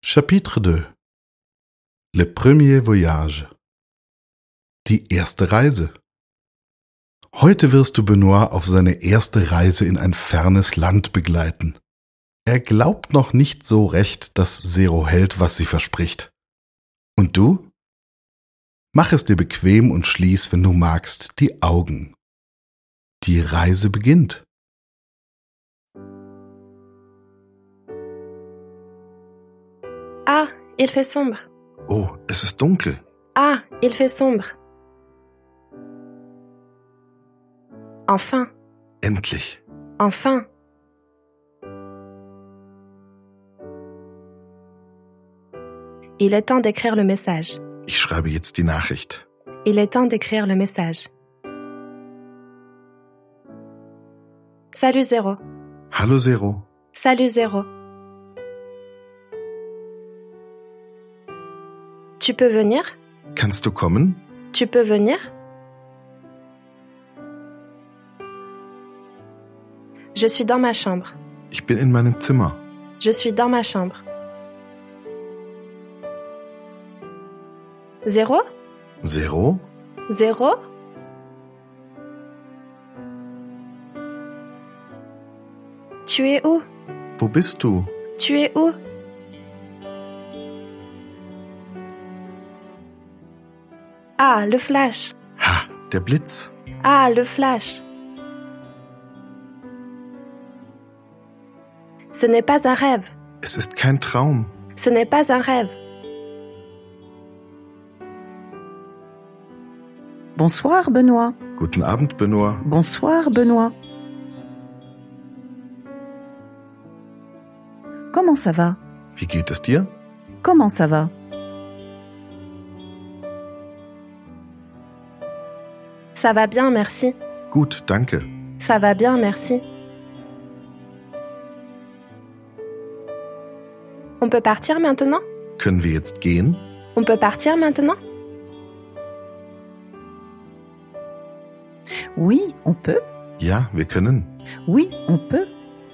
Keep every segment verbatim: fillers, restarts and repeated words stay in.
Chapitre deux. Le premier voyage. Die erste Reise. Heute wirst du Benoit auf seine erste Reise in ein fernes Land begleiten. Er glaubt noch nicht so recht, dass Zero hält, was sie verspricht. Und du? Mach es dir bequem und schließ, wenn du magst, die Augen. Die Reise beginnt. Ah, il fait sombre. Oh, es ist dunkel. Ah, il fait sombre. Enfin, Endlich. enfin. Il est temps d'écrire le message. Ich schreibe jetzt die Nachricht. Il est temps d'écrire le message. Salut Zéro. Hallo Zero. Salut Zéro. Tu peux venir? Kannst du kommen? Tu peux venir? Je suis dans ma chambre. Ich bin in meinem Zimmer. Je suis dans ma chambre. Zéro? Zero? Zéro? Tu es où? Wo bist du? Tu es où? Ah, le flash. Ha, der Blitz. Ah, le flash. Ce n'est pas un rêve. Es ist kein Traum. Ce n'est pas un rêve. Bonsoir, Benoît. Guten Abend, Benoit. Bonsoir, Benoît. Comment ça va? Wie geht es dir? Comment ça va? Ça va bien, merci. Gut, danke. Ça va bien, merci. On peut partir maintenant? Können wir jetzt gehen? On peut partir maintenant? Oui, on peut. Ja, wir können. Oui, on peut.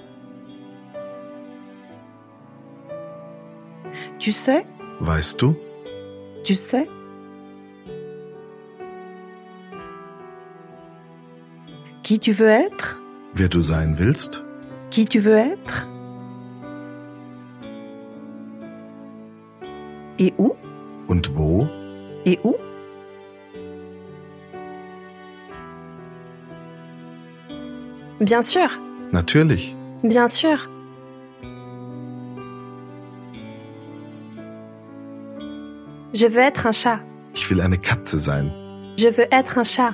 Tu sais, Weißt du? tu sais. Qui tu veux être? Wer du sein willst? Qui tu veux être? Et où? Und wo? Et où? Bien sûr, Natürlich. bien sûr. Je veux être un chat. Ich will eine Katze sein. Je veux être un chat.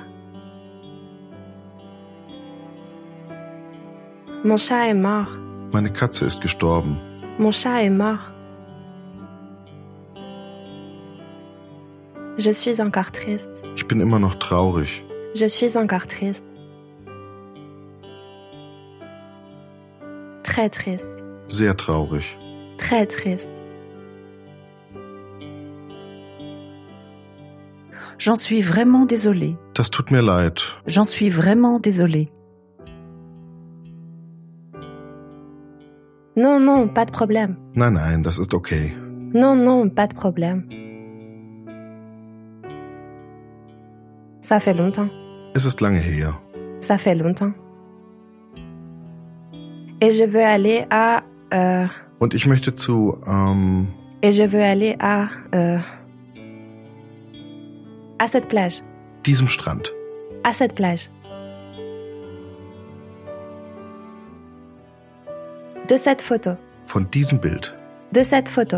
Mon chat est mort. Meine Katze ist gestorben. Mon chat est mort. Je suis encore triste. Ich bin immer noch traurig. Je suis encore triste. Très triste. Sehr traurig. Très triste. J'en suis vraiment désolée. Das tut mir leid. J'en suis vraiment désolée. Non, non, pas de problème. Nein, nein, das ist okay. Non, non, pas de problème. Ça fait longtemps. Es ist lange her. Ça fait longtemps. Et je veux aller à... Euh, Und ich möchte zu, ähm, et je veux aller à... Euh, à cette plage. diesem Strand. À cette plage. De cette photo. Von diesem Bild. De cette photo.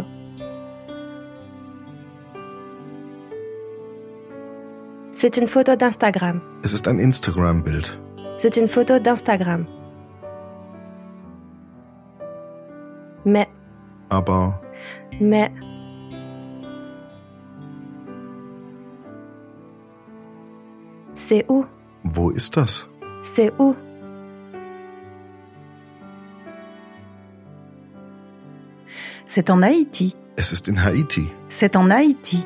C'est une photo d'Instagram. Es ist ein Instagram-Bild. C'est une photo d'Instagram. Mais, Aber mais... C'est où? wo ist das? C'est où? C'est en Haïti. Es ist in Haiti. C'est en Haïti.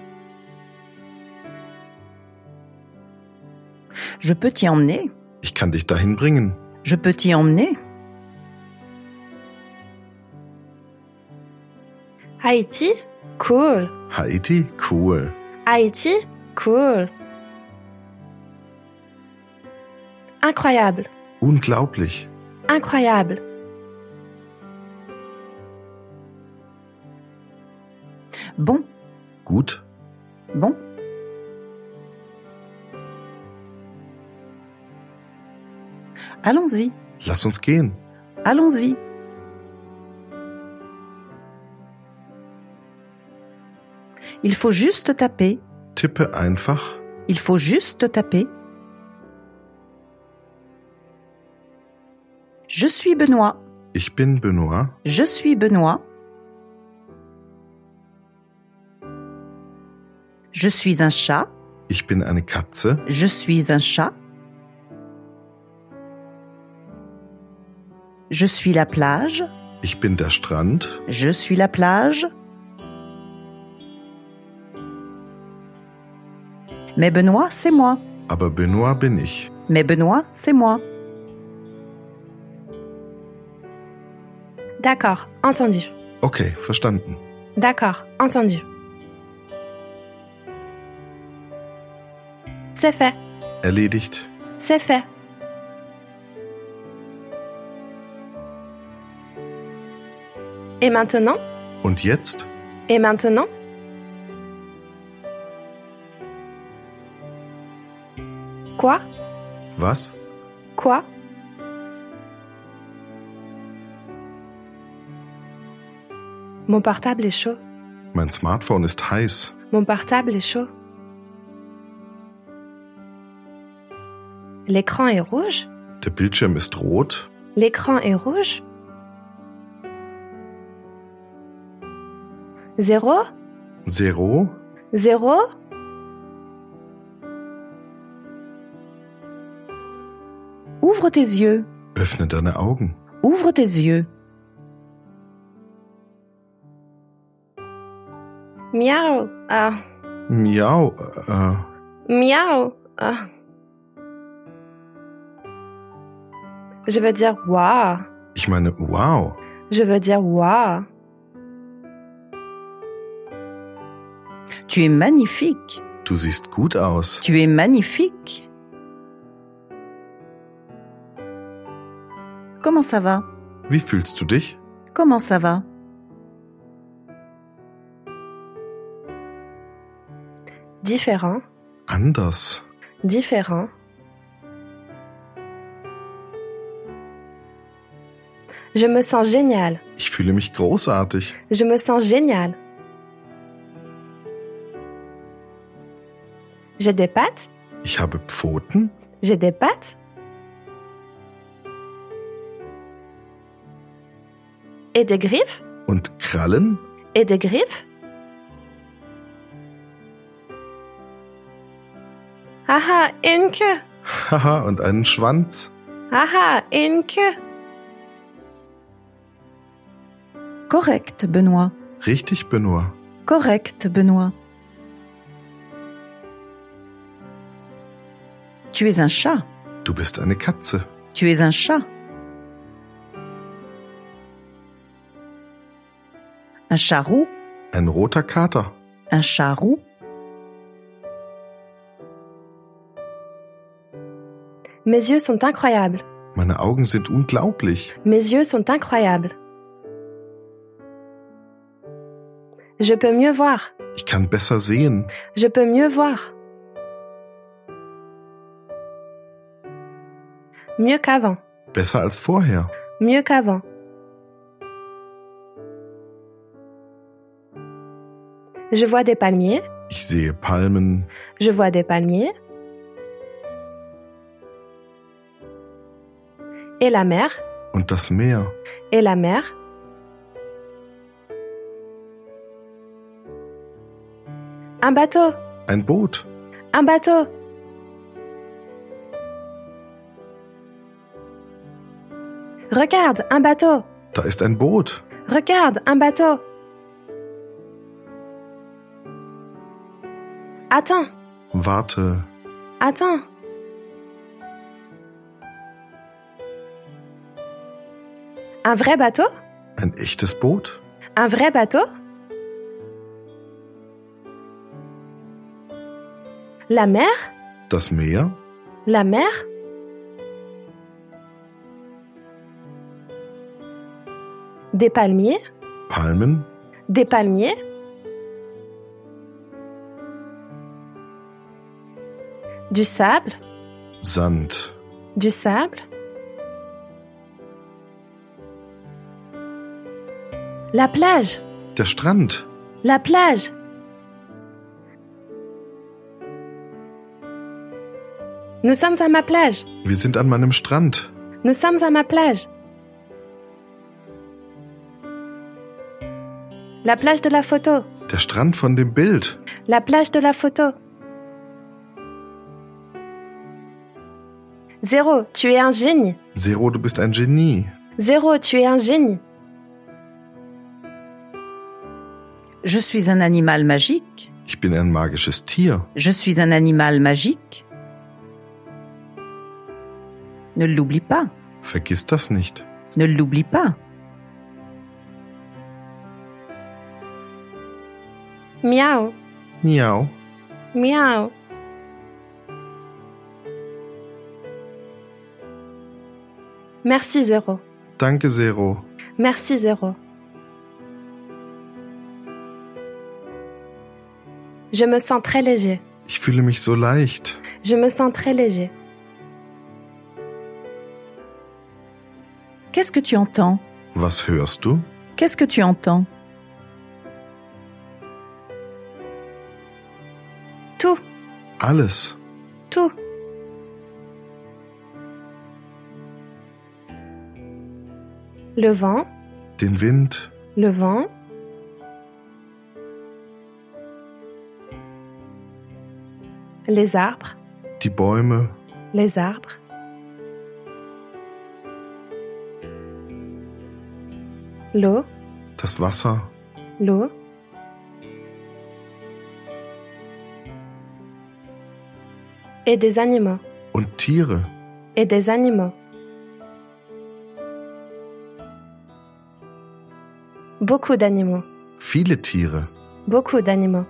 Je peux t'y emmener. Ich kann dich dahin bringen. Je peux t'y emmener. Haïti? Cool. Haiti? Cool. Haïti? Cool. Incroyable. Unglaublich. Incroyable. Bon, Gut. bon. Allons-y, Lass uns gehen. allons-y. Il faut juste taper. Tippe einfach. Il faut juste taper. Je suis Benoît. Ich bin Benoît. Je suis Benoît. Je suis un chat. Ich bin eine Katze. Je suis un chat. Je suis la plage. Ich bin der Strand. Je suis la plage. Mais Benoît, c'est moi. Aber Benoît bin ich. Mais Benoît, c'est moi. D'accord, entendu. Okay, verstanden. D'accord, entendu. C'est fait. Erledigt. C'est fait. Et maintenant? Und jetzt? Et maintenant? Quoi? Was? Quoi? Mon portable est chaud. Mein Smartphone ist heiß. Mon portable est chaud. L'écran est rouge? Der Bildschirm ist rot. L'écran est rouge? Zéro? Zero? Zéro? Ouvre tes yeux. Öffne deine Augen. Ouvre tes yeux. Miaou. Ah. Miau. Äh, Miaou. Ah. Je veux dire waouh. ich meine, wow. Je veux dire waouh. Tu es magnifique. Du siehst gut aus. Tu es magnifique. Comment ça va? Wie fühlst du dich? Comment ça va? Différent. Anders. Différent. Je me sens génial. Ich fühle mich großartig. Je me sens génial. J'ai des pattes. Ich habe Pfoten. J'ai des pattes. Et des griffes. Und Krallen. Et des griffes. Haha, une queue. Haha, und einen Schwanz. Haha, une queue. Correct, Benoît. Richtig, Benoît. Correct, Benoît. Tu es un chat. Du bist eine Katze. Tu es un chat. Un chat roux. Ein roter Kater. Un chat roux. Mes yeux sont incroyables. Meine Augen sind unglaublich. Mes yeux sont incroyables. Je peux mieux voir. Ich kann besser sehen. Je peux mieux voir. Mieux qu'avant. Besser als vorher. Mieux qu'avant. Je vois des palmiers. Ich sehe Palmen. Je vois des palmiers. Et la mer. Und das Meer. Et la mer. Un bateau. Ein Boot. Un bateau. Regarde, un bateau. Da ist ein Boot. Regarde, un bateau. Attends, Warte. attends. Un vrai bateau? Ein echtes Boot? Un vrai bateau? La mer? Das Meer? La mer? Des palmiers? Palmen? Des palmiers? Du sable? Sand? Du sable? La plage? Der Strand? La plage? Nous sommes à ma plage. Wir sind an meinem Strand. Nous sommes à ma plage. La plage de la photo. Der Strand von dem Bild. La plage de la photo. Zéro, tu es un génie. Zero, du bist ein Genie. Zéro, tu es un génie. Je suis un animal magique. Ich bin ein magisches Tier. Je suis un animal magique. Ne l'oublie pas. Vergiss das nicht. Ne l'oublie pas. Miaou, Miau. miaou. Merci Zéro. Danke, Zero. Merci Zéro. Je me sens très léger. Ich fühle mich so leicht. Je me sens très léger. Qu'est-ce que tu entends? Was hörst du? Qu'est-ce que tu entends? Tout, Alles. tout. Le vent, Den Wind. le vent. Les arbres, Die Bäume. les arbres. L'eau, Das Wasser. l'eau. Et des animaux, Und Tiere. et des animaux. Beaucoup d'animaux, Viele Tiere. beaucoup d'animaux.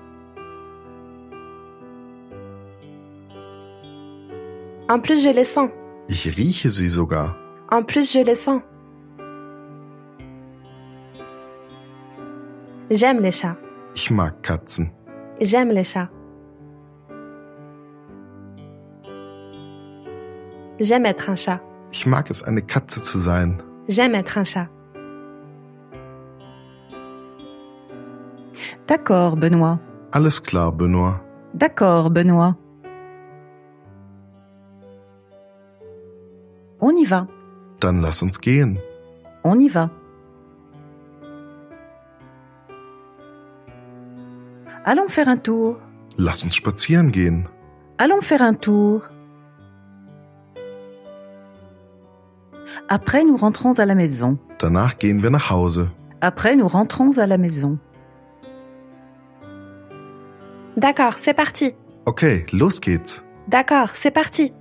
En plus, je les sens. Ich rieche sie sogar. En plus, je les sens. J'aime les chats. Ich mag Katzen. J'aime les chats. J'aime être un chat. Ich mag es, eine Katze zu sein. J'aime être un chat. D'accord, Benoît. Alles klar, Benoît. D'accord, Benoît. On y va. Dann lass uns gehen. On y va. Allons faire un tour. Lass uns spazieren gehen. Allons faire un tour. Après, nous rentrons à la maison. Danach gehen wir nach Hause. Après, nous rentrons à la maison. D'accord, c'est parti. Okay, los geht's. D'accord, c'est parti.